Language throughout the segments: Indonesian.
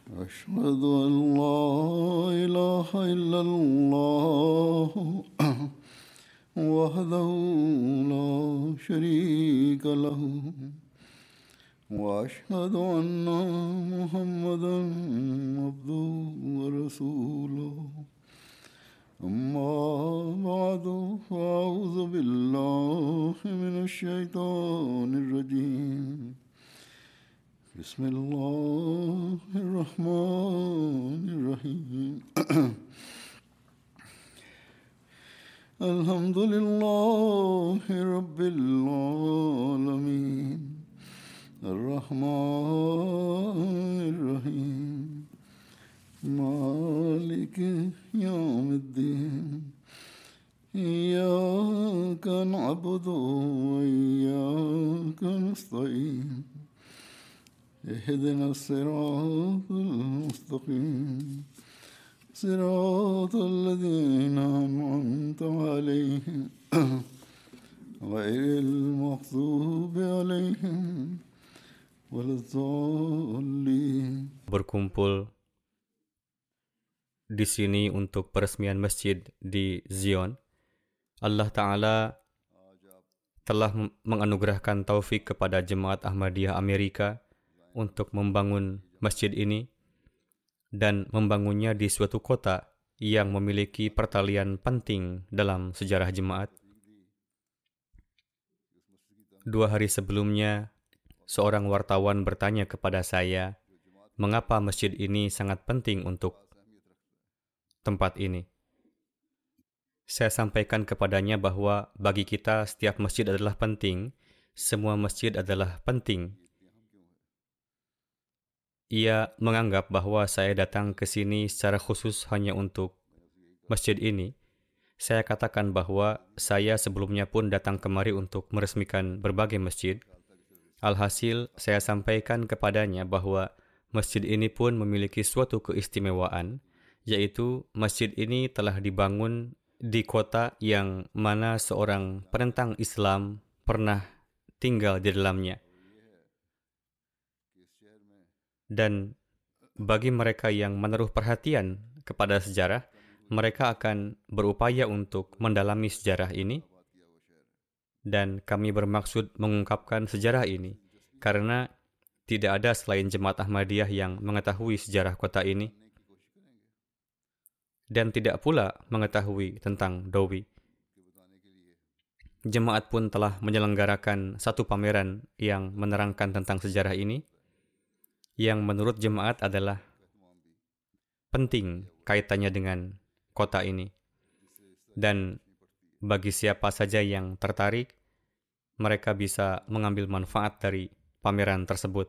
أشهد أن لا إله إلا الله وحده لا شريك له وأشهد أن محمدا عبده ورسوله أما بعد فأعوذ بالله من الشيطان الرجيم بسم الله الرحمن الرحيم الحمد لله رب العالمين الرحمن الرحيم مالك يوم الدين إياك نعبد وإياك نستعين اهدنا الصراط المستقيم صراط الذين أنعمت عليهم غير المغضوب عليهم ولا الضالين. Berkumpul di sini untuk peresmian masjid di Zion. Allah Ta'ala telah menganugerahkan taufik kepada Jemaat Ahmadiyah Amerika untuk membangun masjid ini dan membangunnya di suatu kota yang memiliki pertalian penting dalam sejarah jemaat. 2 hari sebelumnya, seorang wartawan bertanya kepada saya, mengapa masjid ini sangat penting untuk tempat ini. Saya sampaikan kepadanya bahwa bagi kita setiap masjid adalah penting, semua masjid adalah penting. Ia menganggap bahwa saya datang ke sini secara khusus hanya untuk masjid ini. Saya katakan bahwa saya sebelumnya pun datang kemari untuk meresmikan berbagai masjid. Alhasil, saya sampaikan kepadanya bahwa masjid ini pun memiliki suatu keistimewaan, yaitu masjid ini telah dibangun di kota yang mana seorang penentang Islam pernah tinggal di dalamnya. Dan bagi mereka yang menaruh perhatian kepada sejarah, mereka akan berupaya untuk mendalami sejarah ini. Dan kami bermaksud mengungkapkan sejarah ini, karena tidak ada selain Jemaat Ahmadiyah yang mengetahui sejarah kota ini, dan tidak pula mengetahui tentang Dowi. Jemaat pun telah menyelenggarakan satu pameran yang menerangkan tentang sejarah ini, yang menurut jemaat adalah penting kaitannya dengan kota ini. Dan bagi siapa saja yang tertarik, mereka bisa mengambil manfaat dari pameran tersebut.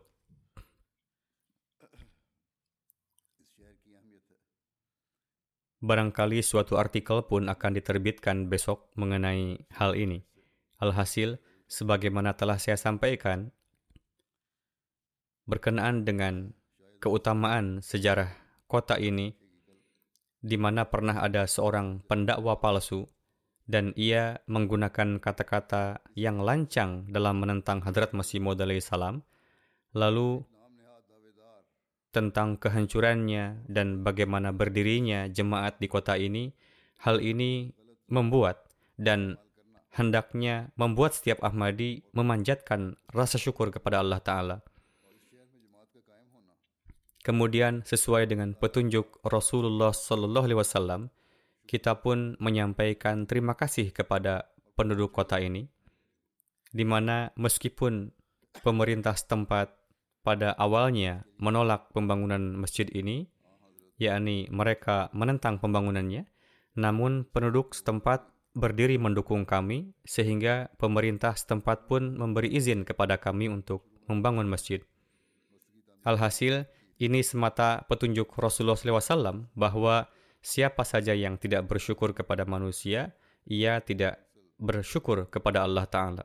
Barangkali suatu artikel pun akan diterbitkan besok mengenai hal ini. Alhasil, sebagaimana telah saya sampaikan, berkenaan dengan keutamaan sejarah kota ini, di mana pernah ada seorang pendakwa palsu, dan ia menggunakan kata-kata yang lancang dalam menentang Hadrat Masih Maud alaihi salam, lalu tentang kehancurannya dan bagaimana berdirinya jemaat di kota ini, hal ini membuat dan hendaknya membuat setiap Ahmadi memanjatkan rasa syukur kepada Allah Ta'ala. Kemudian sesuai dengan petunjuk Rasulullah SAW, kita pun menyampaikan terima kasih kepada penduduk kota ini, di mana meskipun pemerintah setempat pada awalnya menolak pembangunan masjid ini, yakni mereka menentang pembangunannya, namun penduduk setempat berdiri mendukung kami, sehingga pemerintah setempat pun memberi izin kepada kami untuk membangun masjid. Alhasil, ini semata petunjuk Rasulullah SAW bahwa siapa saja yang tidak bersyukur kepada manusia, ia tidak bersyukur kepada Allah Ta'ala.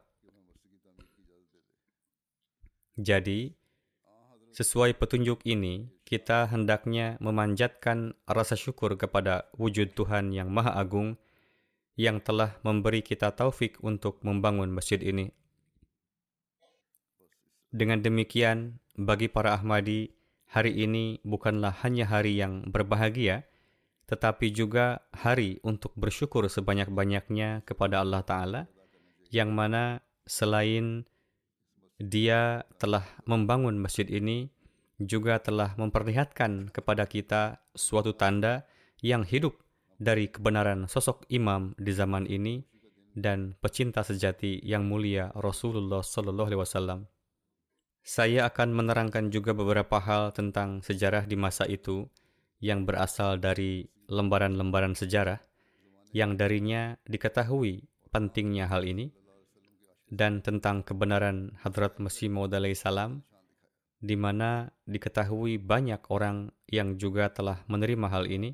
Jadi, sesuai petunjuk ini, kita hendaknya memanjatkan rasa syukur kepada wujud Tuhan yang Maha Agung yang telah memberi kita taufik untuk membangun masjid ini. Dengan demikian, bagi para Ahmadi, hari ini bukanlah hanya hari yang berbahagia, tetapi juga hari untuk bersyukur sebanyak-banyaknya kepada Allah Ta'ala, yang mana selain Dia telah membangun masjid ini, juga telah memperlihatkan kepada kita suatu tanda yang hidup dari kebenaran sosok imam di zaman ini dan pecinta sejati yang mulia Rasulullah Sallallahu Alaihi Wasallam. Saya akan menerangkan juga beberapa hal tentang sejarah di masa itu yang berasal dari lembaran-lembaran sejarah yang darinya diketahui pentingnya hal ini, dan tentang kebenaran Hadrat Masih Maud alaihi salam, di mana diketahui banyak orang yang juga telah menerima hal ini.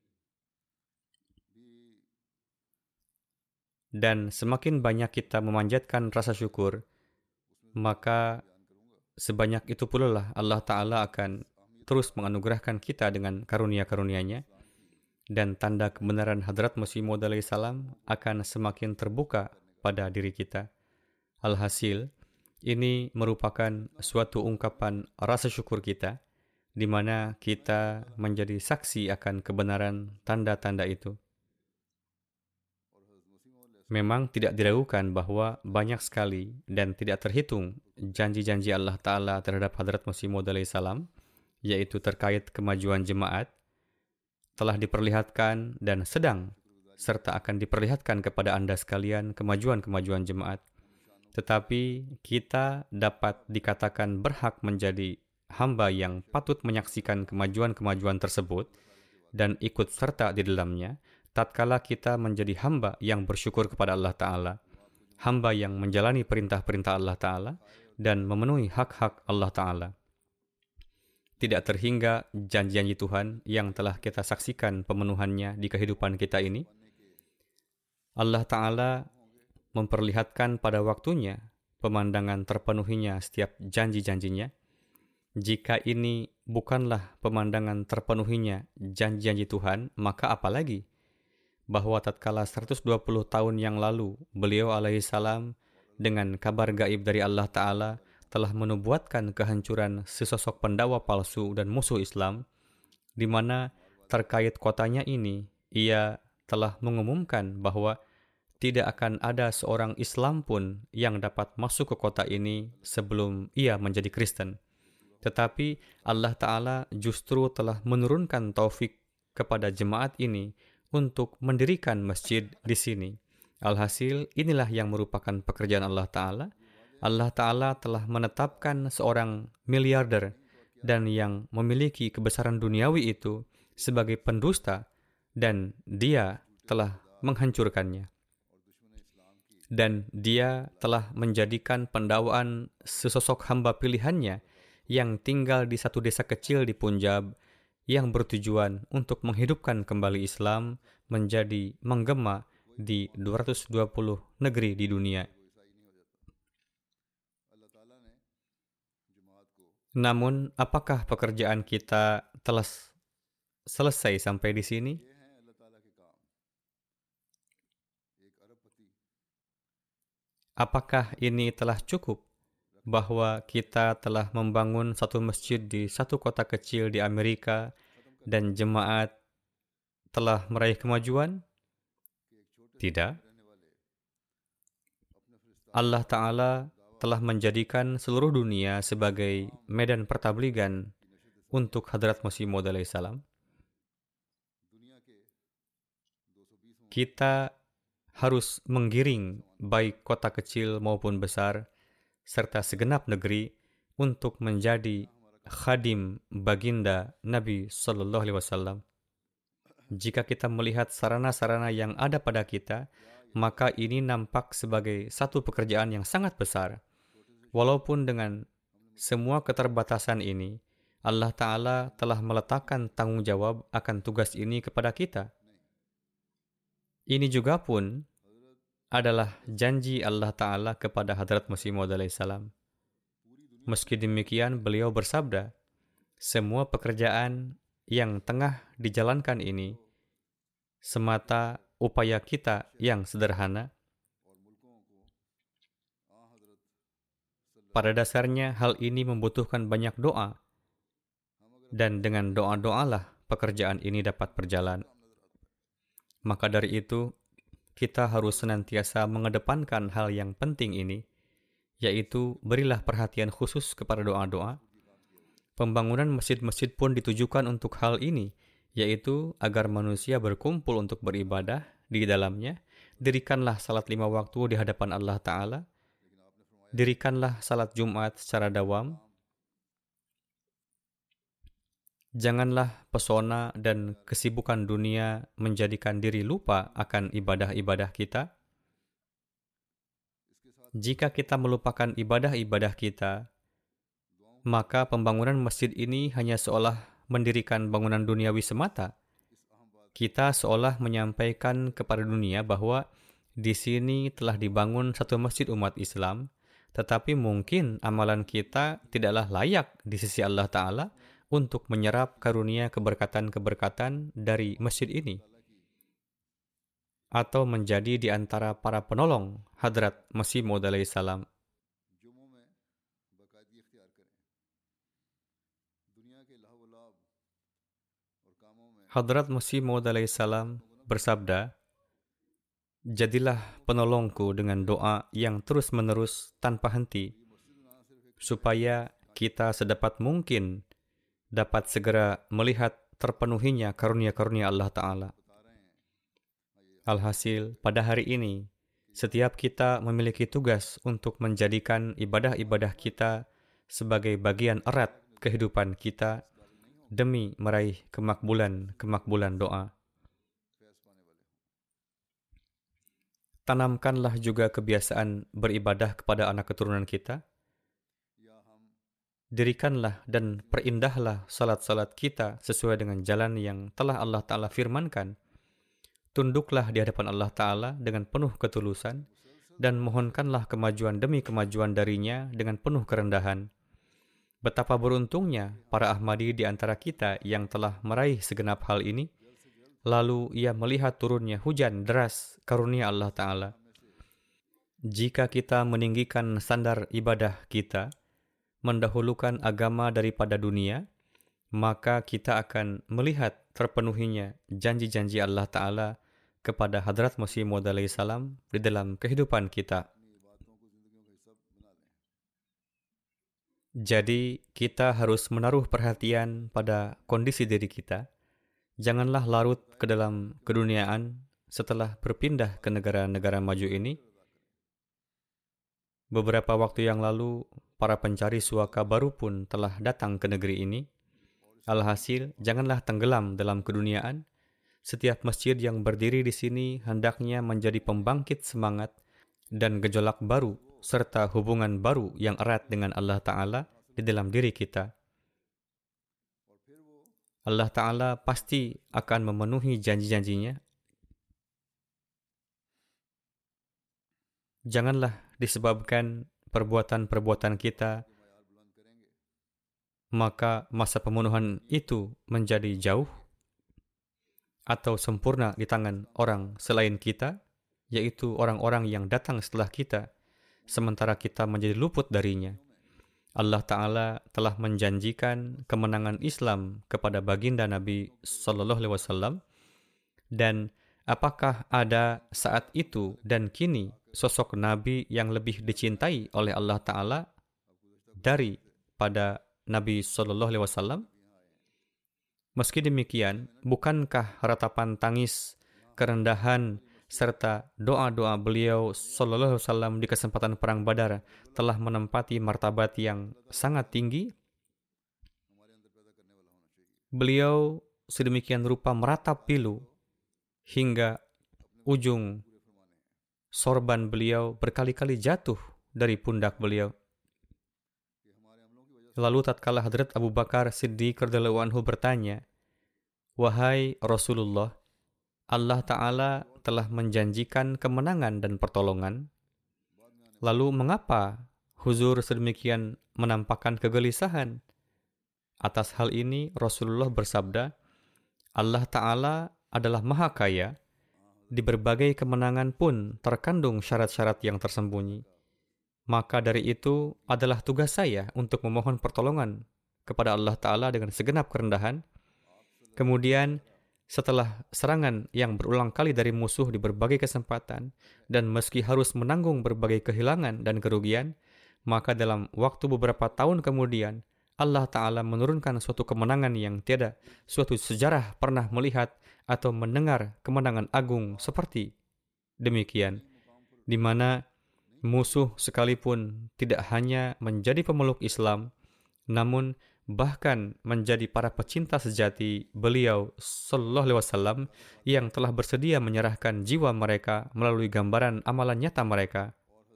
Dan semakin banyak kita memanjatkan rasa syukur, maka sebanyak itu pula lah Allah Ta'ala akan terus menganugerahkan kita dengan karunia-karunia-Nya, dan tanda kebenaran Hadrat Masih Maud alaihi salam akan semakin terbuka pada diri kita. Alhasil, ini merupakan suatu ungkapan rasa syukur kita, di mana kita menjadi saksi akan kebenaran tanda-tanda itu. Memang tidak diragukan bahwa banyak sekali dan tidak terhitung janji-janji Allah Ta'ala terhadap Hadrat Masih Maud alaihi salam, yaitu terkait kemajuan jemaat, telah diperlihatkan dan sedang serta akan diperlihatkan kepada Anda sekalian kemajuan-kemajuan jemaat. Tetapi kita dapat dikatakan berhak menjadi hamba yang patut menyaksikan kemajuan-kemajuan tersebut dan ikut serta di dalamnya, tatkala kita menjadi hamba yang bersyukur kepada Allah Ta'ala, hamba yang menjalani perintah-perintah Allah Ta'ala, dan memenuhi hak-hak Allah Ta'ala. Tidak terhingga janji-janji Tuhan yang telah kita saksikan pemenuhannya di kehidupan kita ini. Allah Ta'ala memperlihatkan pada waktunya pemandangan terpenuhinya setiap janji-janjinya. Jika ini bukanlah pemandangan terpenuhinya janji-janji Tuhan, maka apalagi? Bahwa tatkala 120 tahun yang lalu, beliau alaihi salam dengan kabar gaib dari Allah Ta'ala telah menubuatkan kehancuran sesosok pendakwa palsu dan musuh Islam, di mana terkait kotanya ini, ia telah mengumumkan bahwa tidak akan ada seorang Islam pun yang dapat masuk ke kota ini sebelum ia menjadi Kristen. Tetapi Allah Ta'ala justru telah menurunkan taufik kepada jemaat ini untuk mendirikan masjid di sini. Alhasil, inilah yang merupakan pekerjaan Allah Ta'ala. Allah Ta'ala telah menetapkan seorang miliarder dan yang memiliki kebesaran duniawi itu sebagai pendusta, dan dia telah menghancurkannya. Dan dia telah menjadikan pendakwaan sesosok hamba pilihannya yang tinggal di satu desa kecil di Punjab, yang bertujuan untuk menghidupkan kembali Islam menjadi menggema di 220 negeri di dunia. Namun, apakah pekerjaan kita telah selesai sampai di sini? Apakah ini telah cukup bahwa kita telah membangun satu masjid di satu kota kecil di Amerika dan jemaat telah meraih kemajuan? Tidak. Allah Ta'ala telah menjadikan seluruh dunia sebagai medan pertabligan untuk Hadrat Masih Maud alaihi salam. Kita harus menggiring baik kota kecil maupun besar, serta segenap negeri untuk menjadi khadim baginda Nabi Sallallahu Alaihi Wasallam. Jika kita melihat sarana-sarana yang ada pada kita, maka ini nampak sebagai satu pekerjaan yang sangat besar. Walaupun dengan semua keterbatasan ini, Allah Ta'ala telah meletakkan tanggung jawab akan tugas ini kepada kita. Ini juga pun adalah janji Allah Ta'ala kepada Hadrat Masih Maud alaihi salam. Meski demikian, beliau bersabda, semua pekerjaan yang tengah dijalankan ini semata upaya kita yang sederhana. Pada dasarnya, hal ini membutuhkan banyak doa. dan dengan doa-doalah pekerjaan ini dapat berjalan. Maka dari itu, kita harus senantiasa mengedepankan hal yang penting ini, yaitu berilah perhatian khusus kepada doa-doa. Pembangunan masjid-masjid pun ditujukan untuk hal ini, yaitu agar manusia berkumpul untuk beribadah di dalamnya. Dirikanlah salat 5 waktu di hadapan Allah Ta'ala. Dirikanlah salat Jumat secara dawam. Janganlah pesona dan kesibukan dunia menjadikan diri lupa akan ibadah-ibadah kita. Jika kita melupakan ibadah-ibadah kita, maka pembangunan masjid ini hanya seolah mendirikan bangunan duniawi semata. Kita seolah menyampaikan kepada dunia bahwa di sini telah dibangun satu masjid umat Islam, tetapi mungkin amalan kita tidaklah layak di sisi Allah Ta'ala untuk menyerap karunia keberkatan-keberkatan dari masjid ini, atau menjadi di antara para penolong Hadrat Masih Maud alaihi salam. Hadrat Masih Maud alaihi salam bersabda, "Jadilah penolongku dengan doa yang terus-menerus tanpa henti, supaya kita sedapat mungkin dapat segera melihat terpenuhinya karunia-karunia Allah Ta'ala." Alhasil, pada hari ini, setiap kita memiliki tugas untuk menjadikan ibadah-ibadah kita sebagai bagian erat kehidupan kita demi meraih kemakbulan doa. Tanamkanlah juga kebiasaan beribadah kepada anak keturunan kita. Dirikanlah dan perindahlah salat-salat kita sesuai dengan jalan yang telah Allah Ta'ala firmankan. Tunduklah di hadapan Allah Ta'ala dengan penuh ketulusan dan mohonkanlah kemajuan demi kemajuan darinya dengan penuh kerendahan. Betapa beruntungnya para Ahmadi di antara kita yang telah meraih segenap hal ini, lalu ia melihat turunnya hujan deras karunia Allah Ta'ala. Jika kita meninggikan standar ibadah kita, mendahulukan agama daripada dunia, maka kita akan melihat terpenuhinya janji-janji Allah Ta'ala kepada Hadrat Masih Maud alaihi salam di dalam kehidupan kita. Jadi, kita harus menaruh perhatian pada kondisi diri kita. Janganlah larut ke dalam keduniaan setelah berpindah ke negara-negara maju ini. Beberapa waktu yang lalu, para pencari suaka baru pun telah datang ke negeri ini. Alhasil, janganlah tenggelam dalam keduniaan. Setiap masjid yang berdiri di sini hendaknya menjadi pembangkit semangat dan gejolak baru, serta hubungan baru yang erat dengan Allah Ta'ala di dalam diri kita. Allah Ta'ala pasti akan memenuhi janji-janjinya. Janganlah disebabkan perbuatan-perbuatan kita, maka masa pemenuhan itu menjadi jauh atau sempurna di tangan orang selain kita, yaitu orang-orang yang datang setelah kita, sementara kita menjadi luput darinya. Allah Ta'ala telah menjanjikan kemenangan Islam kepada baginda Nabi Sallallahu Alaihi Wasallam, dan apakah ada saat itu dan kini sosok Nabi yang lebih dicintai oleh Allah Ta'ala daripada Nabi Sallallahu Alaihi Wasallam? Meski demikian, bukankah ratapan tangis, kerendahan, serta doa-doa beliau Sallallahu Alaihi Wasallam di kesempatan Perang Badar telah menempati martabat yang sangat tinggi? Beliau sedemikian rupa meratap pilu hingga ujung sorban beliau berkali-kali jatuh dari pundak beliau. Lalu tatkala Hadrat Abu Bakar Siddiq radhiyallahu anhu bertanya, "Wahai Rasulullah, Allah Ta'ala telah menjanjikan kemenangan dan pertolongan. Lalu mengapa Huzur sedemikian menampakkan kegelisahan?" Atas hal ini Rasulullah bersabda, Allah Ta'ala adalah Maha Kaya. Di berbagai kemenangan pun terkandung syarat-syarat yang tersembunyi. Maka dari itu adalah tugas saya untuk memohon pertolongan kepada Allah Ta'ala dengan segenap kerendahan. Kemudian setelah serangan yang berulang kali dari musuh di berbagai kesempatan, dan meski harus menanggung berbagai kehilangan dan kerugian, maka dalam waktu beberapa tahun kemudian, Allah Ta'ala menurunkan suatu kemenangan yang tiada suatu sejarah pernah melihat atau mendengar kemenangan agung seperti demikian, di mana musuh sekalipun tidak hanya menjadi pemeluk Islam, namun bahkan menjadi para pecinta sejati beliau Sallallahu Alaihi Wasallam yang telah bersedia menyerahkan jiwa mereka melalui gambaran amalan nyata mereka.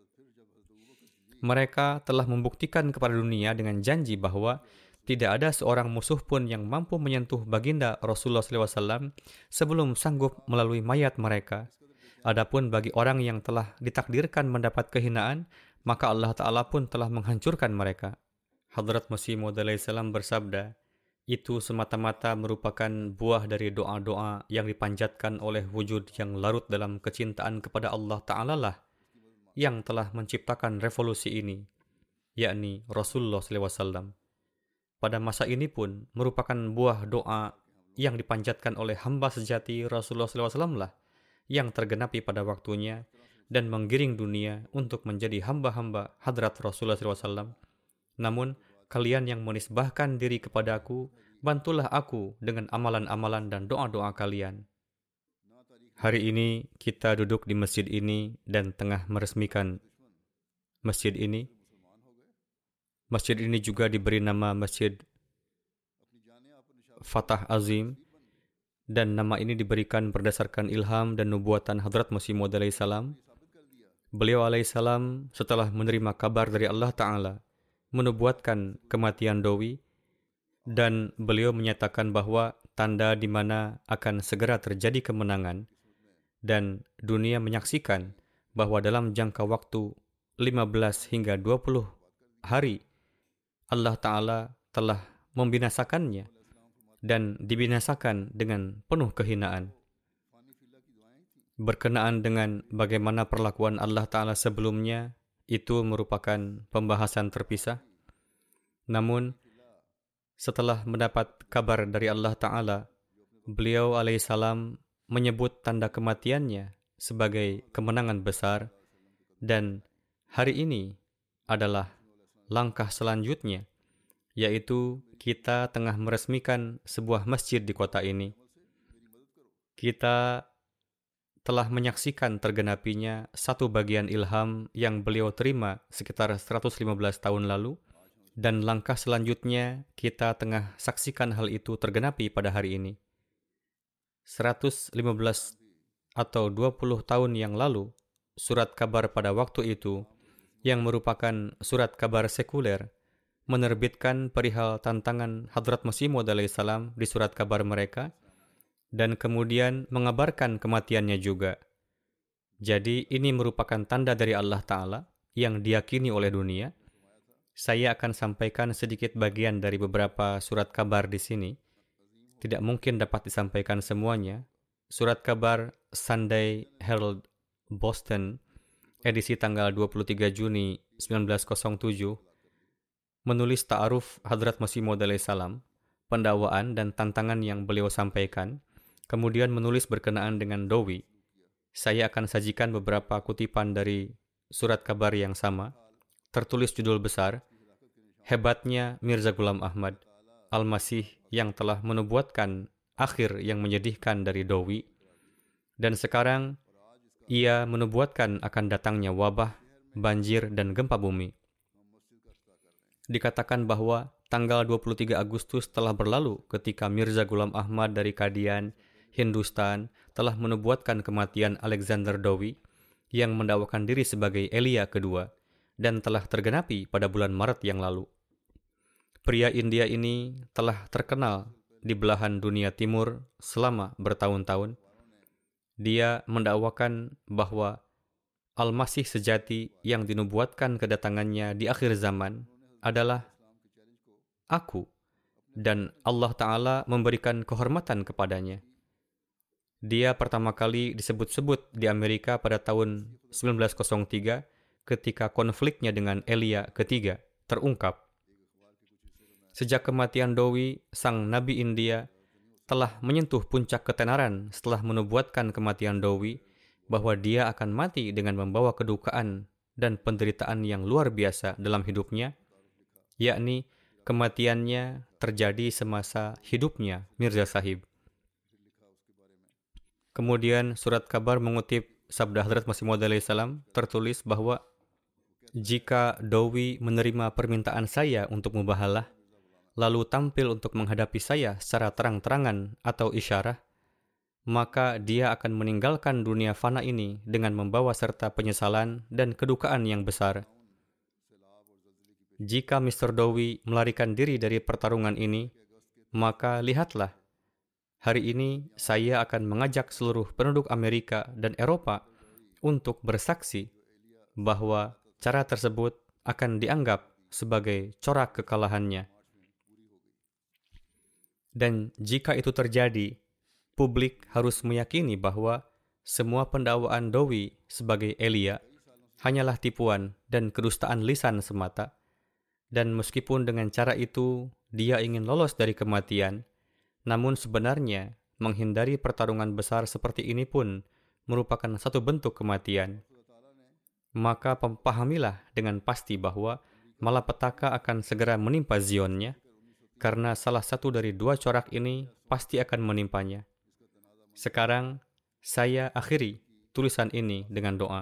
Mereka telah membuktikan kepada dunia dengan janji bahwa tidak ada seorang musuh pun yang mampu menyentuh baginda Rasulullah SAW sebelum sanggup melalui mayat mereka. Adapun bagi orang yang telah ditakdirkan mendapat kehinaan, maka Allah Ta'ala pun telah menghancurkan mereka. Hadrat Masih Maud alaihissalam bersabda, itu semata-mata merupakan buah dari doa-doa yang dipanjatkan oleh wujud yang larut dalam kecintaan kepada Allah Ta'ala lah yang telah menciptakan revolusi ini, yakni Rasulullah SAW. Pada masa ini pun merupakan buah doa yang dipanjatkan oleh hamba sejati Rasulullah SAW lah yang tergenapi pada waktunya dan menggiring dunia untuk menjadi hamba-hamba hadrat Rasulullah SAW. Namun, kalian yang menisbahkan diri kepada aku, bantulah aku dengan amalan-amalan dan doa-doa kalian. Hari ini kita duduk di masjid ini dan tengah meresmikan masjid ini. Masjid ini juga diberi nama Masjid Fatah Azim, dan nama ini diberikan berdasarkan ilham dan nubuatan Hadrat Masih Maud alaihissalam. Beliau alaihissalam setelah menerima kabar dari Allah Ta'ala menubuatkan kematian Dowi, dan beliau menyatakan bahwa tanda di mana akan segera terjadi kemenangan, dan dunia menyaksikan bahwa dalam jangka waktu 15 hingga 20 hari Allah Ta'ala telah membinasakannya dan dibinasakan dengan penuh kehinaan. Berkenaan dengan bagaimana perlakuan Allah Ta'ala sebelumnya, itu merupakan pembahasan terpisah. Namun, setelah mendapat kabar dari Allah Ta'ala, beliau alaihissalam menyebut tanda kematiannya sebagai kemenangan besar, dan hari ini adalah langkah selanjutnya, yaitu kita tengah meresmikan sebuah masjid di kota ini. Kita telah menyaksikan tergenapinya satu bagian ilham yang beliau terima sekitar 115 tahun lalu, dan langkah selanjutnya kita tengah saksikan hal itu tergenapi pada hari ini. 115 atau 20 tahun yang lalu, surat kabar pada waktu itu, yang merupakan surat kabar sekuler, menerbitkan perihal tantangan Hadrat Masih Maud alaihissalam di surat kabar mereka, dan kemudian mengabarkan kematiannya juga. Jadi ini merupakan tanda dari Allah Ta'ala yang diyakini oleh dunia. Saya akan sampaikan sedikit bagian dari beberapa surat kabar di sini. Tidak mungkin dapat disampaikan semuanya. Surat kabar Sunday Herald Boston, edisi tanggal 23 Juni 1907, menulis ta'aruf Hadrat Masih Maud alaihissalam, pendakwaan dan tantangan yang beliau sampaikan, kemudian menulis berkenaan dengan Dowi. Saya akan sajikan beberapa kutipan dari surat kabar yang sama. Tertulis judul besar, Hebatnya Mirza Ghulam Ahmad, Al-Masih yang telah menubuatkan akhir yang menyedihkan dari Dowi, dan sekarang ia menubuatkan akan datangnya wabah, banjir, dan gempa bumi. Dikatakan bahwa tanggal 23 Agustus telah berlalu ketika Mirza Ghulam Ahmad dari Kadian, Hindustan, telah menubuatkan kematian Alexander Dowi yang mendakwakan diri sebagai Elia kedua, dan telah tergenapi pada bulan Maret yang lalu. Pria India ini telah terkenal di belahan dunia timur selama bertahun-tahun. Dia mendakwakan bahwa Al-Masih sejati yang dinubuatkan kedatangannya di akhir zaman adalah aku, dan Allah Ta'ala memberikan kehormatan kepadanya. Dia pertama kali disebut-sebut di Amerika pada tahun 1903 ketika konfliknya dengan Elia ketiga terungkap. Sejak kematian Dowi, sang Nabi India telah menyentuh puncak ketenaran setelah menubuatkan kematian Dowi, bahwa dia akan mati dengan membawa kedukaan dan penderitaan yang luar biasa dalam hidupnya, yakni kematiannya terjadi semasa hidupnya Mirza Sahib. Kemudian surat kabar mengutip sabda Hadrat Masih Maud alaihissalam, tertulis bahwa jika Dowi menerima permintaan saya untuk mubahalah, lalu tampil untuk menghadapi saya secara terang-terangan atau isyarah, maka dia akan meninggalkan dunia fana ini dengan membawa serta penyesalan dan kedukaan yang besar. Jika Mr. Dowi melarikan diri dari pertarungan ini, maka lihatlah, hari ini saya akan mengajak seluruh penduduk Amerika dan Eropa untuk bersaksi bahwa cara tersebut akan dianggap sebagai corak kekalahannya. Dan jika itu terjadi, publik harus meyakini bahwa semua pendakwaan Dowi sebagai Elia hanyalah tipuan dan kedustaan lisan semata. Dan meskipun dengan cara itu dia ingin lolos dari kematian, namun sebenarnya menghindari pertarungan besar seperti ini pun merupakan satu bentuk kematian. Maka pahamilah dengan pasti bahwa malapetaka akan segera menimpa Zionnya, karena salah satu dari dua corak ini pasti akan menimpanya. Sekarang, saya akhiri tulisan ini dengan doa.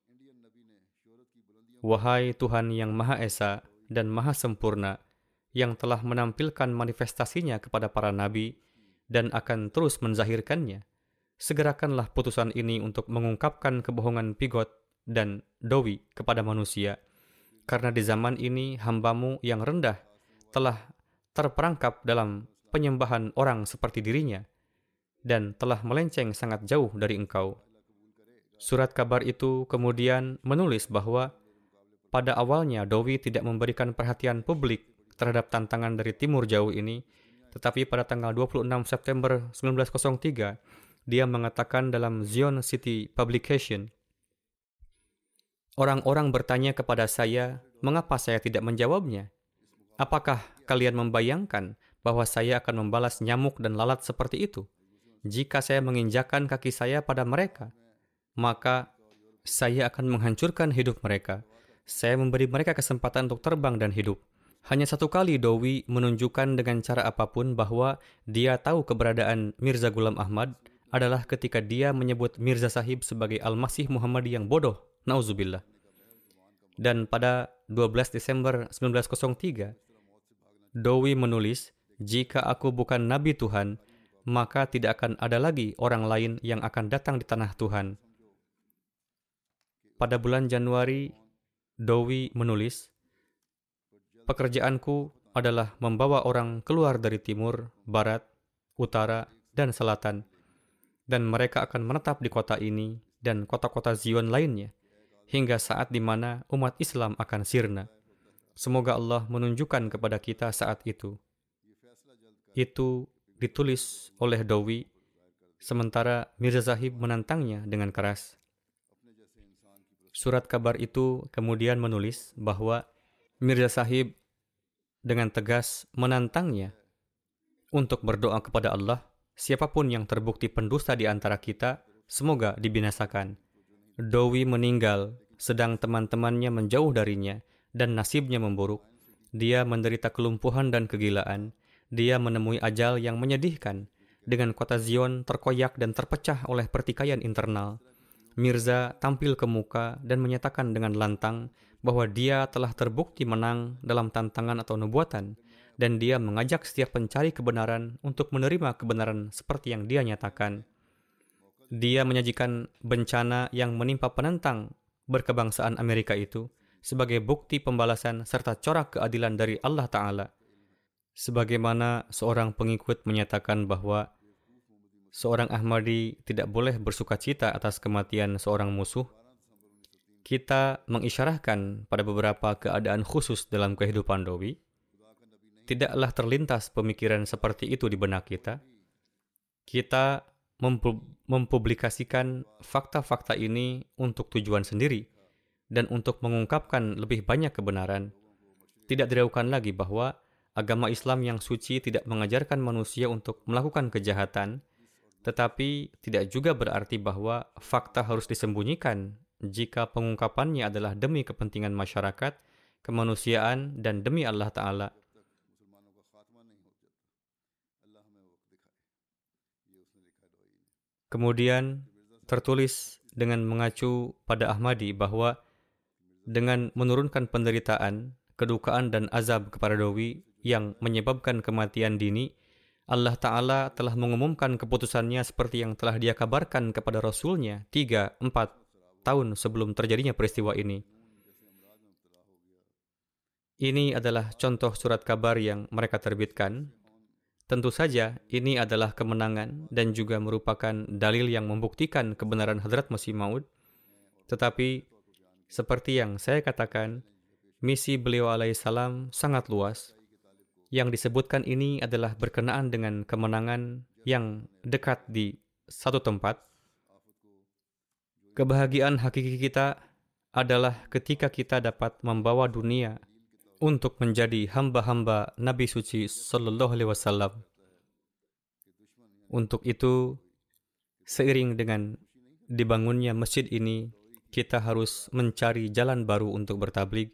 Wahai Tuhan yang Maha Esa dan Maha Sempurna, yang telah menampilkan manifestasinya kepada para nabi dan akan terus menzahirkannya, segerakanlah putusan ini untuk mengungkapkan kebohongan Pigot dan Dowi kepada manusia, karena di zaman ini hamba-Mu yang rendah telah terperangkap dalam penyembahan orang seperti dirinya dan telah melenceng sangat jauh dari Engkau. Surat kabar itu kemudian menulis bahwa pada awalnya Dowi tidak memberikan perhatian publik terhadap tantangan dari timur jauh ini, tetapi pada tanggal 26 September 1903, dia mengatakan dalam Zion City Publication, orang-orang bertanya kepada saya, mengapa saya tidak menjawabnya? Apakah kalian membayangkan bahwa saya akan membalas nyamuk dan lalat seperti itu? Jika saya menginjakkan kaki saya pada mereka, maka saya akan menghancurkan hidup mereka. Saya memberi mereka kesempatan untuk terbang dan hidup. Hanya satu kali Dowi menunjukkan dengan cara apapun bahwa dia tahu keberadaan Mirza Ghulam Ahmad adalah ketika dia menyebut Mirza Sahib sebagai Al-Masih Muhammadi yang bodoh. Nauzubillah. Dan pada 12 Desember 1903, Dowi menulis, jika aku bukan Nabi Tuhan, maka tidak akan ada lagi orang lain yang akan datang di tanah Tuhan. Pada bulan Januari, Dowi menulis, pekerjaanku adalah membawa orang keluar dari timur, barat, utara, dan selatan, dan mereka akan menetap di kota ini dan kota-kota Zion lainnya, hingga saat di mana umat Islam akan sirna. Semoga Allah menunjukkan kepada kita saat itu. Itu ditulis oleh Dowi, sementara Mirza Sahib menantangnya dengan keras. Surat kabar itu kemudian menulis bahwa Mirza Sahib dengan tegas menantangnya untuk berdoa kepada Allah, siapapun yang terbukti pendusta di antara kita, semoga dibinasakan. Dowi meninggal, sedang teman-temannya menjauh darinya, dan nasibnya memburuk. Dia menderita kelumpuhan dan kegilaan. Dia menemui ajal yang menyedihkan, dengan kota Zion terkoyak dan terpecah oleh pertikaian internal. Mirza tampil ke muka dan menyatakan dengan lantang bahwa dia telah terbukti menang dalam tantangan atau nubuatan, dan dia mengajak setiap pencari kebenaran untuk menerima kebenaran seperti yang dia nyatakan. Dia menyajikan bencana yang menimpa penentang berkebangsaan Amerika itu sebagai bukti pembalasan serta corak keadilan dari Allah Ta'ala. Sebagaimana seorang pengikut menyatakan bahwa seorang Ahmadi tidak boleh bersukacita atas kematian seorang musuh, kita mengisyarahkan pada beberapa keadaan khusus dalam kehidupan Dowi. Tidaklah terlintas pemikiran seperti itu di benak kita. Kita mempublikasikan fakta-fakta ini untuk tujuan sendiri dan untuk mengungkapkan lebih banyak kebenaran. Tidak diragukan lagi bahwa agama Islam yang suci tidak mengajarkan manusia untuk melakukan kejahatan, tetapi tidak juga berarti bahwa fakta harus disembunyikan jika pengungkapannya adalah demi kepentingan masyarakat, kemanusiaan, dan demi Allah Ta'ala. Kemudian tertulis dengan mengacu pada Ahmadi bahwa dengan menurunkan penderitaan, kedukaan dan azab kepada doi yang menyebabkan kematian dini, Allah Ta'ala telah mengumumkan keputusannya seperti yang telah Dia kabarkan kepada Rasul-Nya 3-4 tahun sebelum terjadinya peristiwa ini. Ini adalah contoh surat kabar yang mereka terbitkan. Tentu saja, ini adalah kemenangan dan juga merupakan dalil yang membuktikan kebenaran Hadrat Masih Maud. Tetapi, seperti yang saya katakan, misi beliau alaihissalam sangat luas. Yang disebutkan ini adalah berkenaan dengan kemenangan yang dekat di satu tempat. Kebahagiaan hakiki kita adalah ketika kita dapat membawa dunia untuk menjadi hamba-hamba Nabi Suci Sallallahu Alaihi Wasallam. Untuk itu, seiring dengan dibangunnya masjid ini, kita harus mencari jalan baru untuk bertabligh.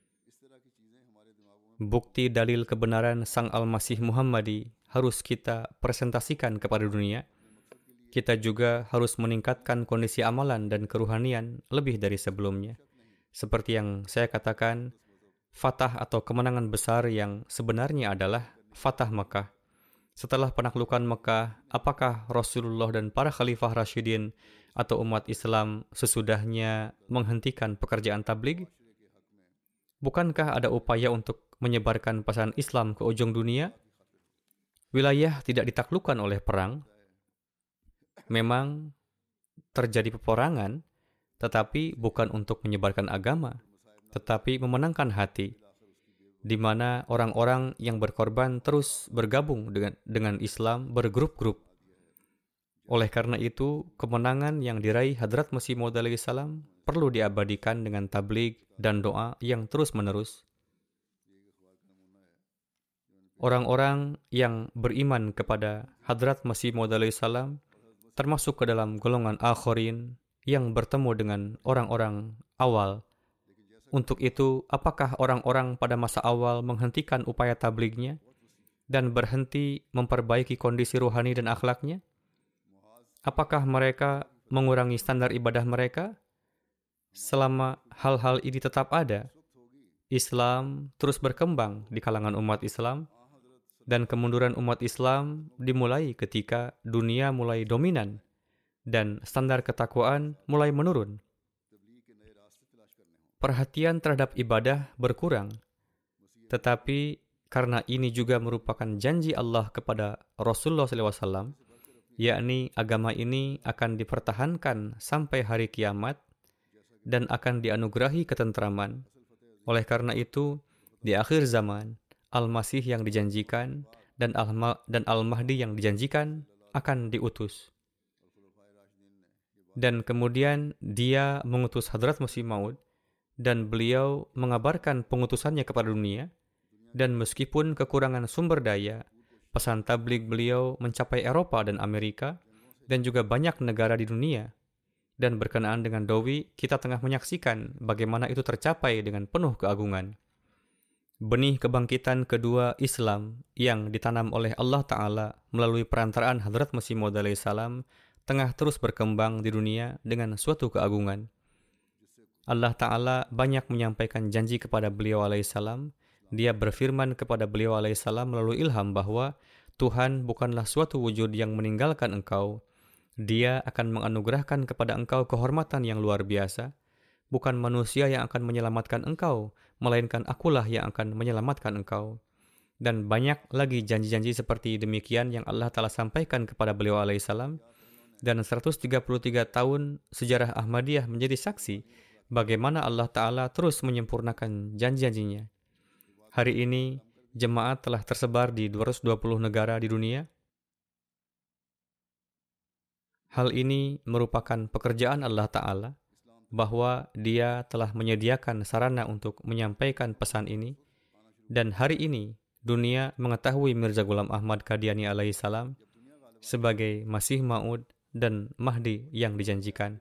Bukti dalil kebenaran Sang Al-Masih Muhammadi harus kita presentasikan kepada dunia. Kita juga harus meningkatkan kondisi amalan dan keruhanian lebih dari sebelumnya. Seperti yang saya katakan, Fatah atau kemenangan besar yang sebenarnya adalah Fatah Mekah. Setelah penaklukan Mekah, apakah Rasulullah dan para Khalifah Rasyidin atau umat Islam sesudahnya menghentikan pekerjaan tabligh? Bukankah ada upaya untuk menyebarkan pesan Islam ke ujung dunia? Wilayah tidak ditaklukkan oleh perang. Memang terjadi peperangan, tetapi bukan untuk menyebarkan agama, tetapi memenangkan hati, di mana orang-orang yang berkorban terus bergabung dengan Islam bergrup-grup. Oleh karena itu, kemenangan yang diraih Hadrat Masih Maud alaihi salam perlu diabadikan dengan tabligh dan doa yang terus-menerus. Orang-orang yang beriman kepada Hadrat Masih Maud alaihi salam termasuk ke dalam golongan akhirin yang bertemu dengan orang-orang awal. Untuk itu, apakah orang-orang pada masa awal menghentikan upaya tablighnya dan berhenti memperbaiki kondisi rohani dan akhlaknya? Apakah mereka mengurangi standar ibadah mereka? Selama hal-hal ini tetap ada, Islam terus berkembang di kalangan umat Islam, dan kemunduran umat Islam dimulai ketika dunia mulai dominan dan standar ketakwaan mulai menurun. Perhatian terhadap ibadah berkurang, tetapi karena ini juga merupakan janji Allah kepada Rasulullah SAW, yakni agama ini akan dipertahankan sampai hari kiamat dan akan dianugerahi ketentraman. Oleh karena itu, di akhir zaman, Al-Masih yang dijanjikan dan Al-Mahdi yang dijanjikan akan diutus. Dan kemudian dia mengutus Hadrat Masih Maud, dan beliau mengabarkan pengutusannya kepada dunia, dan meskipun kekurangan sumber daya, pesan tabligh beliau mencapai Eropa dan Amerika, dan juga banyak negara di dunia. Dan berkenaan dengan doi, kita tengah menyaksikan bagaimana itu tercapai dengan penuh keagungan. Benih kebangkitan kedua Islam yang ditanam oleh Allah Ta'ala melalui perantaraan Hadrat Masih Maud alaihi salam tengah terus berkembang di dunia dengan suatu keagungan. Allah Ta'ala banyak menyampaikan janji kepada beliau alaihissalam. Dia berfirman kepada beliau alaihissalam melalui ilham bahwa Tuhan bukanlah suatu wujud yang meninggalkan engkau. Dia akan menganugerahkan kepada engkau kehormatan yang luar biasa. Bukan manusia yang akan menyelamatkan engkau, melainkan akulah yang akan menyelamatkan engkau. Dan banyak lagi janji-janji seperti demikian yang Allah Ta'ala sampaikan kepada beliau alaihissalam. Dan 133 tahun sejarah Ahmadiyah menjadi saksi bagaimana Allah Ta'ala terus menyempurnakan janji-janjinya. Hari ini, jemaat telah tersebar di 220 negara di dunia. Hal ini merupakan pekerjaan Allah Ta'ala, bahwa Dia telah menyediakan sarana untuk menyampaikan pesan ini, dan hari ini dunia mengetahui Mirza Ghulam Ahmad Qadiani alaihissalam sebagai Masih Maud dan Mahdi yang dijanjikan.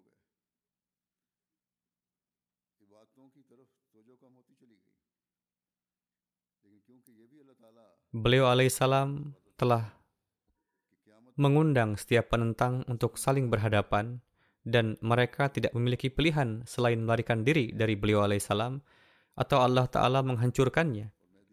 Beliau alaihissalam telah mengundang setiap penentang untuk saling berhadapan dan mereka tidak memiliki pilihan selain melarikan diri dari beliau alaihissalam atau Allah Ta'ala menghancurkannya.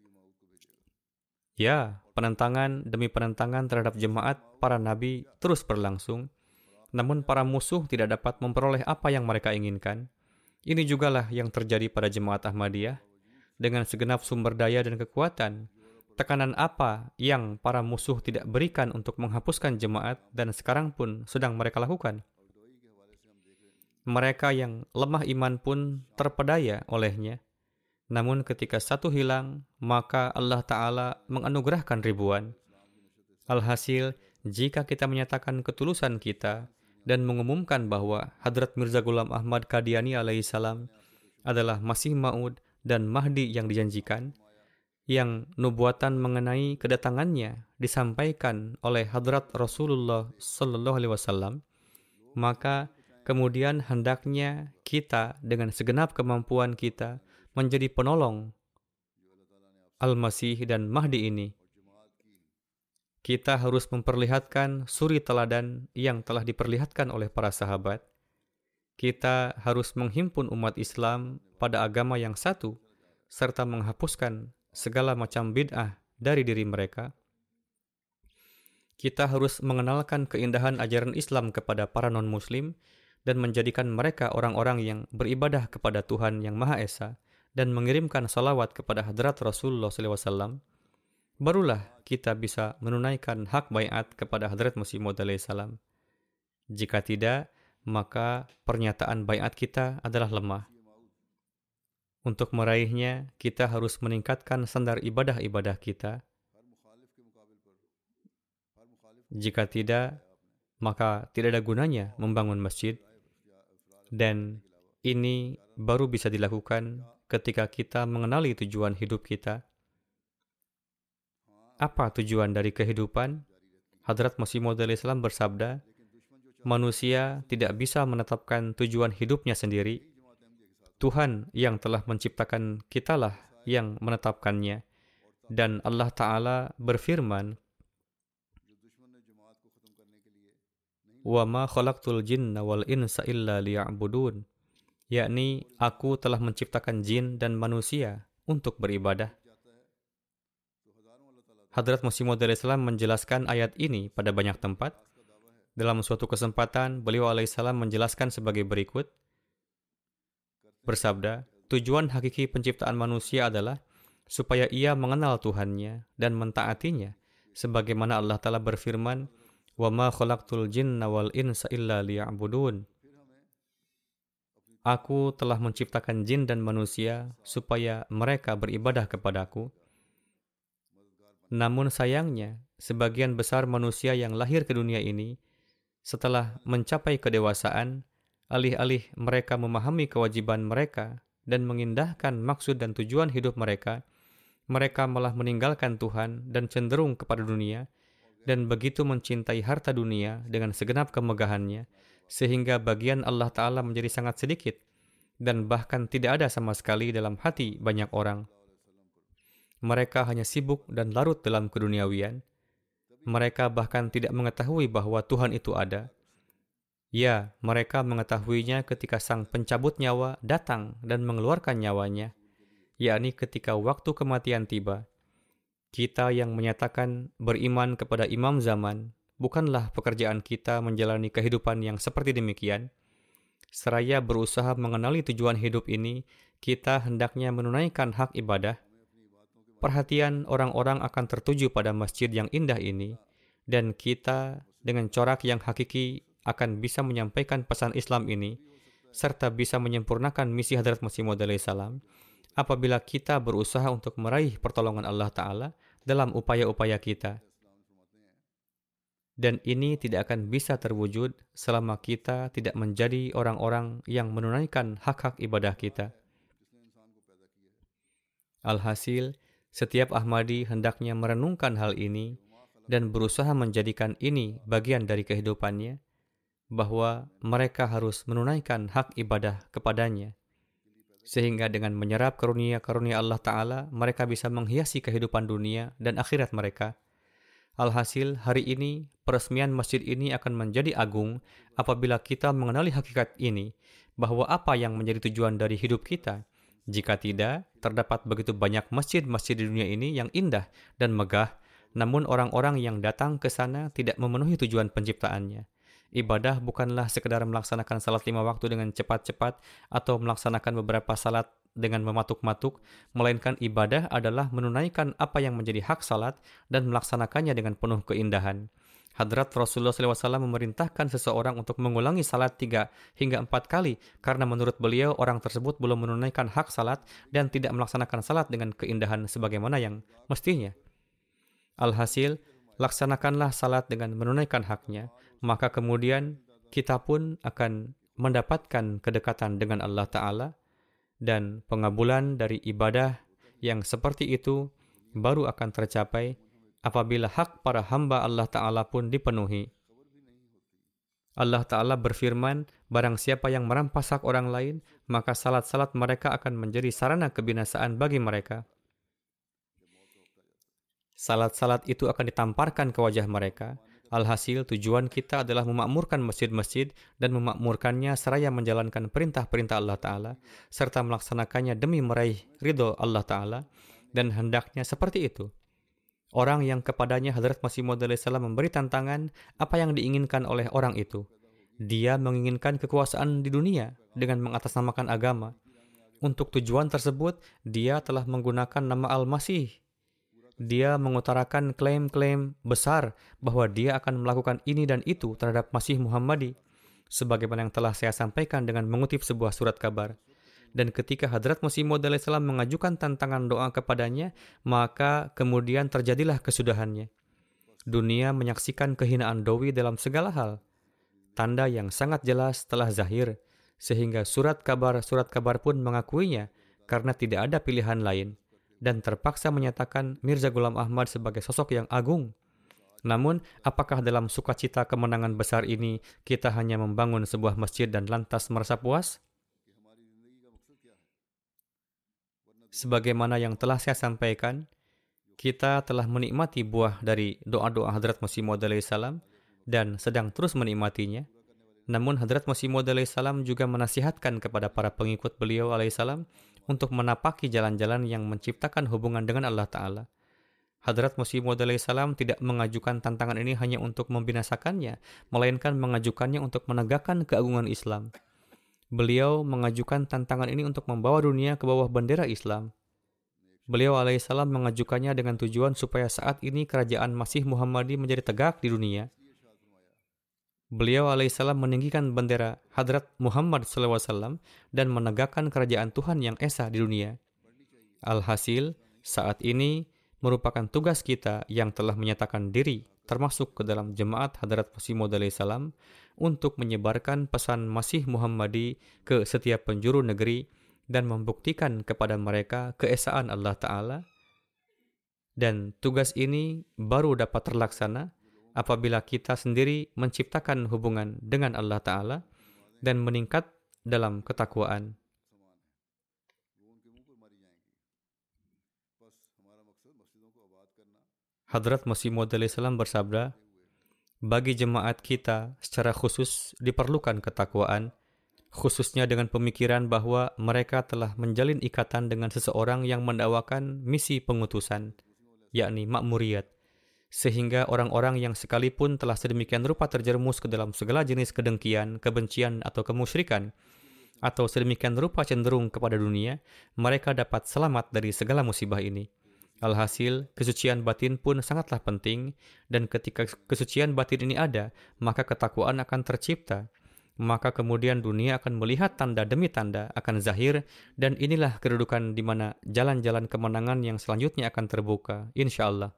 Ya, penentangan demi penentangan terhadap jemaat para nabi terus berlangsung, namun para musuh tidak dapat memperoleh apa yang mereka inginkan. Ini jugalah yang terjadi pada jemaat Ahmadiyah. Dengan segenap sumber daya dan kekuatan, tekanan apa yang para musuh tidak berikan untuk menghapuskan jemaat dan sekarang pun sedang mereka lakukan. Mereka yang lemah iman pun terpedaya olehnya. Namun ketika satu hilang, maka Allah Ta'ala menganugerahkan ribuan. Alhasil, jika kita menyatakan ketulusan kita dan mengumumkan bahwa Hadrat Mirza Ghulam Ahmad Qadiani alaihissalam adalah Masih Maud dan Mahdi yang dijanjikan, yang nubuatan mengenai kedatangannya disampaikan oleh Hadrat Rasulullah Sallallahu Alaihi Wasallam, maka kemudian hendaknya kita dengan segenap kemampuan kita menjadi penolong Al-Masih dan Mahdi ini. Kita harus memperlihatkan suri teladan yang telah diperlihatkan oleh para sahabat. Kita harus menghimpun umat Islam pada agama yang satu, serta menghapuskan segala macam bid'ah dari diri mereka. Kita harus mengenalkan keindahan ajaran Islam kepada para non-muslim dan menjadikan mereka orang-orang yang beribadah kepada Tuhan yang Maha Esa dan mengirimkan salawat kepada Hadrat Rasulullah SAW. Barulah kita bisa menunaikan hak baiat kepada Hadrat Masih Maud alaihissalam. Jika tidak, maka pernyataan baiat kita adalah lemah. Untuk meraihnya, kita harus meningkatkan standar ibadah-ibadah kita. Jika tidak, maka tidak ada gunanya membangun masjid. Dan ini baru bisa dilakukan ketika kita mengenali tujuan hidup kita. Apa tujuan dari kehidupan? Hadrat Masih Maud alaihissalam bersabda, manusia tidak bisa menetapkan tujuan hidupnya sendiri. Tuhan yang telah menciptakan kitalah yang menetapkannya. Dan Allah Ta'ala berfirman, وَمَا خَلَقْتُ الْجِنَّ وَالْإِنْسَ إِلَّا لِيَعْبُدُونَ, yakni aku telah menciptakan jin dan manusia untuk beribadah. Hadrat Masih Maud alaihissalam menjelaskan ayat ini pada banyak tempat. Dalam suatu kesempatan, beliau alaihissalam menjelaskan sebagai berikut, bersabda, tujuan hakiki penciptaan manusia adalah supaya ia mengenal Tuhannya dan mentaatinya, sebagaimana Allah Ta'ala berfirman, وَمَا خَلَقْتُ الْجِنَّ وَالْإِنْسَ إِلَّا لِيَعْبُدُونَ. Aku telah menciptakan jin dan manusia supaya mereka beribadah kepadaku. Namun sayangnya, sebagian besar manusia yang lahir ke dunia ini, setelah mencapai kedewasaan, alih-alih mereka memahami kewajiban mereka dan mengindahkan maksud dan tujuan hidup mereka, mereka malah meninggalkan Tuhan dan cenderung kepada dunia, dan begitu mencintai harta dunia dengan segenap kemegahannya, sehingga bagian Allah Ta'ala menjadi sangat sedikit, dan bahkan tidak ada sama sekali dalam hati banyak orang. Mereka hanya sibuk dan larut dalam keduniawian. Mereka bahkan tidak mengetahui bahwa Tuhan itu ada. Ya, mereka mengetahuinya ketika sang pencabut nyawa datang dan mengeluarkan nyawanya, yakni ketika waktu kematian tiba. Kita yang menyatakan beriman kepada imam zaman, bukanlah pekerjaan kita menjalani kehidupan yang seperti demikian. Seraya berusaha mengenali tujuan hidup ini, kita hendaknya menunaikan hak ibadah. Perhatian orang-orang akan tertuju pada masjid yang indah ini, dan kita dengan corak yang hakiki akan bisa menyampaikan pesan Islam ini, serta bisa menyempurnakan misi Hadrat Masih Maud alaihissalam apabila kita berusaha untuk meraih pertolongan Allah Ta'ala dalam upaya-upaya kita. Dan ini tidak akan bisa terwujud selama kita tidak menjadi orang-orang yang menunaikan hak-hak ibadah kita. Alhasil, Setiap Ahmadi hendaknya merenungkan hal ini dan berusaha menjadikan ini bagian dari kehidupannya, bahwa mereka harus menunaikan hak ibadah kepadanya, sehingga dengan menyerap karunia-karunia Allah Ta'ala, mereka bisa menghiasi kehidupan dunia dan akhirat mereka. Alhasil, hari ini, peresmian masjid ini akan menjadi agung apabila kita mengenali hakikat ini, bahwa apa yang menjadi tujuan dari hidup kita. Jika tidak, terdapat begitu banyak masjid-masjid di dunia ini yang indah dan megah, namun orang-orang yang datang ke sana tidak memenuhi tujuan penciptaannya. Ibadah bukanlah sekedar melaksanakan salat 5 waktu dengan cepat-cepat atau melaksanakan beberapa salat dengan mematuk-matuk, melainkan ibadah adalah menunaikan apa yang menjadi hak salat dan melaksanakannya dengan penuh keindahan. Hadrat Rasulullah SAW memerintahkan seseorang untuk mengulangi salat 3 hingga 4 kali karena menurut beliau orang tersebut belum menunaikan hak salat dan tidak melaksanakan salat dengan keindahan sebagaimana yang mestinya. Alhasil, laksanakanlah salat dengan menunaikan haknya, maka kemudian kita pun akan mendapatkan kedekatan dengan Allah Ta'ala, dan pengabulan dari ibadah yang seperti itu baru akan tercapai apabila hak para hamba Allah Ta'ala pun dipenuhi. Allah Ta'ala berfirman, barang siapa yang merampas hak orang lain, maka salat-salat mereka akan menjadi sarana kebinasaan bagi mereka. Salat-salat itu akan ditamparkan ke wajah mereka. Alhasil, tujuan kita adalah memakmurkan masjid-masjid dan memakmurkannya seraya menjalankan perintah-perintah Allah Ta'ala, serta melaksanakannya demi meraih ridho Allah Ta'ala, dan hendaknya seperti itu. Orang yang kepadanya Hadrat Masih Maud ﷺ memberi tantangan apa yang diinginkan oleh orang itu. Dia menginginkan kekuasaan di dunia dengan mengatasnamakan agama. Untuk tujuan tersebut, dia telah menggunakan nama Al-Masih. Dia mengutarakan klaim-klaim besar bahwa dia akan melakukan ini dan itu terhadap Masih Muhammadi, sebagaimana yang telah saya sampaikan dengan mengutip sebuah surat kabar. Dan ketika Hadrat Masih Maud ﷺ mengajukan tantangan doa kepadanya, maka kemudian terjadilah kesudahannya. Dunia menyaksikan kehinaan Dowi dalam segala hal. Tanda yang sangat jelas telah zahir, sehingga surat kabar pun mengakuinya karena tidak ada pilihan lain, dan terpaksa menyatakan Mirza Ghulam Ahmad sebagai sosok yang agung. Namun, apakah dalam sukacita kemenangan besar ini kita hanya membangun sebuah masjid dan lantas merasa puas? Sebagaimana yang telah saya sampaikan, kita telah menikmati buah dari doa-doa Hadrat Masih Maud ﷺ dan sedang terus menikmatinya. Namun Hadrat Masih Maud ﷺ juga menasihatkan kepada para pengikut beliau alaihissalam untuk menapaki jalan-jalan yang menciptakan hubungan dengan Allah Ta'ala. Hadrat Masih Maud ﷺ tidak mengajukan tantangan ini hanya untuk membinasakannya, melainkan mengajukannya untuk menegakkan keagungan Islam. Beliau mengajukan tantangan ini untuk membawa dunia ke bawah bendera Islam. Beliau alaihissalam mengajukannya dengan tujuan supaya saat ini kerajaan Masih Muhammadi menjadi tegak di dunia. Beliau alaihissalam meninggikan bendera Hadrat Muhammad SAW dan menegakkan kerajaan Tuhan yang esa di dunia. Alhasil, saat ini merupakan tugas kita yang telah menyatakan diri termasuk ke dalam jemaat Hadrat Masih Maud ﷺ untuk menyebarkan pesan Masih Muhammadi ke setiap penjuru negeri dan membuktikan kepada mereka keesaan Allah Ta'ala. Dan tugas ini baru dapat terlaksana apabila kita sendiri menciptakan hubungan dengan Allah Ta'ala dan meningkat dalam ketakwaan. Hadrat Masih Maud ﷺ bersabda, bagi jemaat kita secara khusus diperlukan ketakwaan, khususnya dengan pemikiran bahwa mereka telah menjalin ikatan dengan seseorang yang mendakwakan misi pengutusan, yakni makmuriyat, sehingga orang-orang yang sekalipun telah sedemikian rupa terjerumus ke dalam segala jenis kedengkian, kebencian atau kemusyrikan, atau sedemikian rupa cenderung kepada dunia, mereka dapat selamat dari segala musibah ini. Alhasil, kesucian batin pun sangatlah penting, dan ketika kesucian batin ini ada, maka ketakwaan akan tercipta. Maka kemudian dunia akan melihat tanda demi tanda akan zahir, dan inilah kedudukan di mana jalan-jalan kemenangan yang selanjutnya akan terbuka, insya Allah.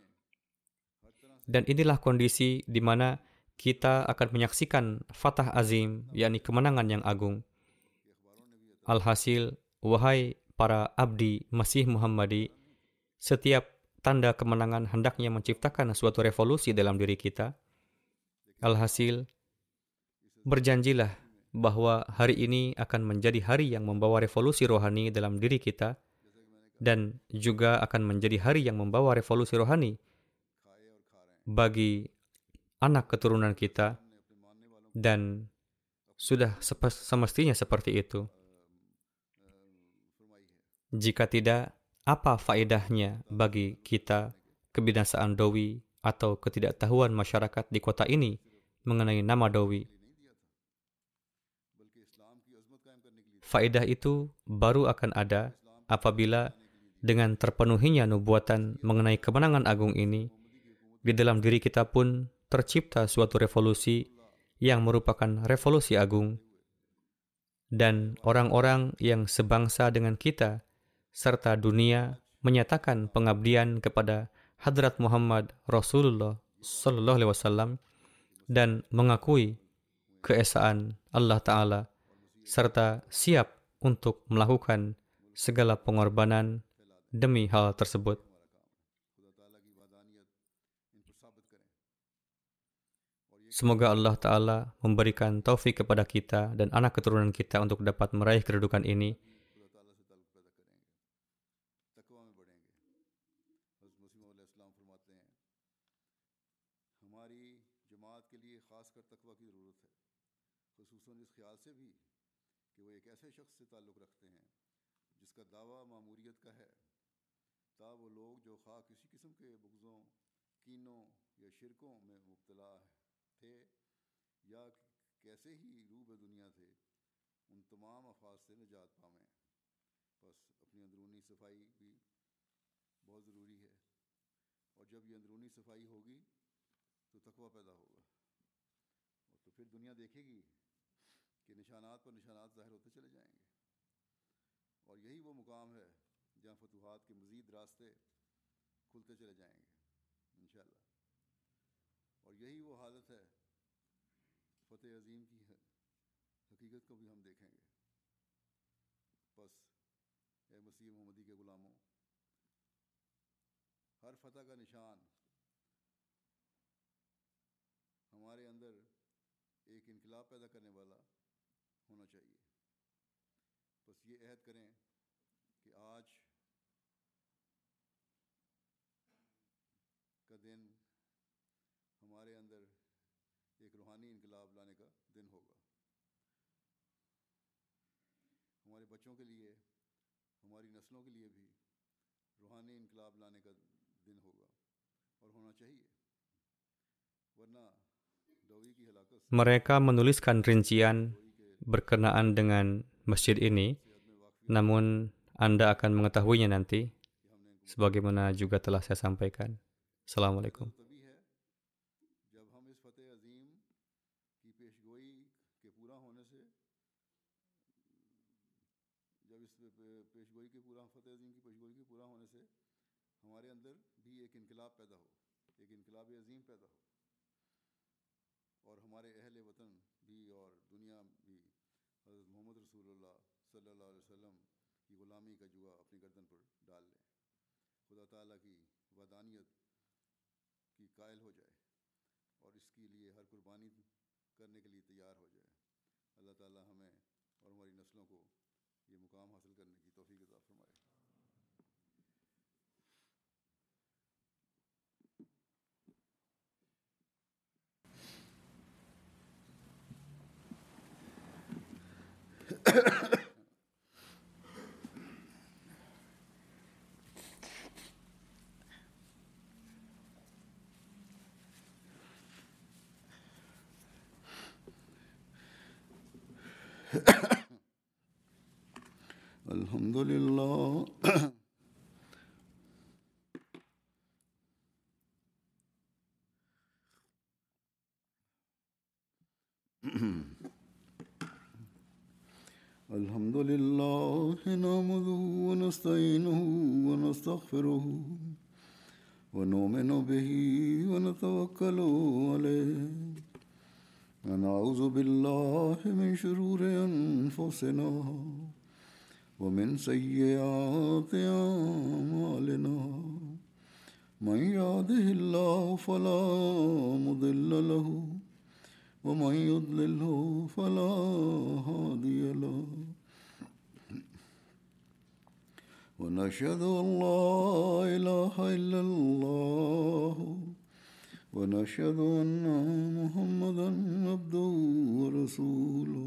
Dan inilah kondisi di mana kita akan menyaksikan Fatah Azim, yakni kemenangan yang agung. Alhasil, wahai para abdi Masih Muhammadi, Setiap tanda kemenangan hendaknya menciptakan suatu revolusi dalam diri kita. Alhasil, berjanjilah bahwa hari ini akan menjadi hari yang membawa revolusi rohani dalam diri kita dan juga akan menjadi hari yang membawa revolusi rohani bagi anak keturunan kita, dan sudah semestinya seperti itu. Jika tidak, apa faedahnya bagi kita kebinasaan Dowi atau ketidaktahuan masyarakat di kota ini mengenai nama Dowi? Faedah itu baru akan ada apabila dengan terpenuhinya nubuatan mengenai kemenangan agung ini, di dalam diri kita pun tercipta suatu revolusi yang merupakan revolusi agung, dan orang-orang yang sebangsa dengan kita serta dunia menyatakan pengabdian kepada Hadrat Muhammad Rasulullah Sallallahu Alaihi Wasallam dan mengakui keesaan Allah Ta'ala serta siap untuk melakukan segala pengorbanan demi hal tersebut. Semoga Allah Ta'ala memberikan taufik kepada kita dan anak keturunan kita untuk dapat meraih kedudukan ini. Mereka menuliskan rincian berkenaan dengan masjid ini, namun Anda akan mengetahuinya nanti, sebagaimana juga telah saya sampaikan. Assalamualaikum. Alhamdulillah. Alhamdulillah nahmaduhu wa nasta'inuhu wa nastaghfiruhu wa nu'minu bihi wa natawakkalu alayhi wa na'udzu billahi min shururi anfusina wa min sayyiati a'malina من يهده الله فلا مضل له ومن يضلله فلا هادي له ونشهد أن لا إله إلا الله ونشهد أن محمدا عبده ورسوله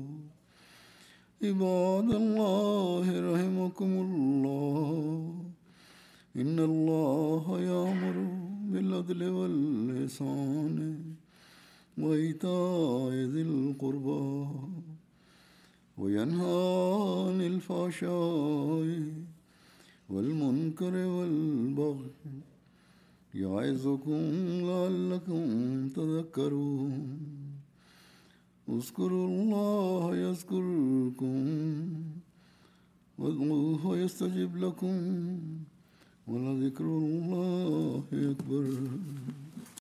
عباد الله رحمكم الله إن الله يأمر بالعدل والإحسان وإيتاء ذي القربى وينهى عن الفحشاء والمنكر والبغي يعظكم لعلكم تذكرون اذكروا الله يذكركم وادعوه يستجب لكم ولذكر الله أكبر